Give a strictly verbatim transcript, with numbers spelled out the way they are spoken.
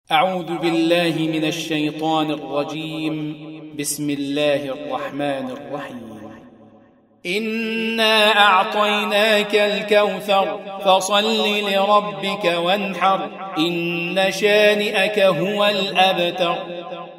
أعوذ بالله من الشيطان الرجيم. بسم الله الرحمن الرحيم. إنا أعطيناك الكوثر فصل لربك وانحر إن شانئك هو الأبتر.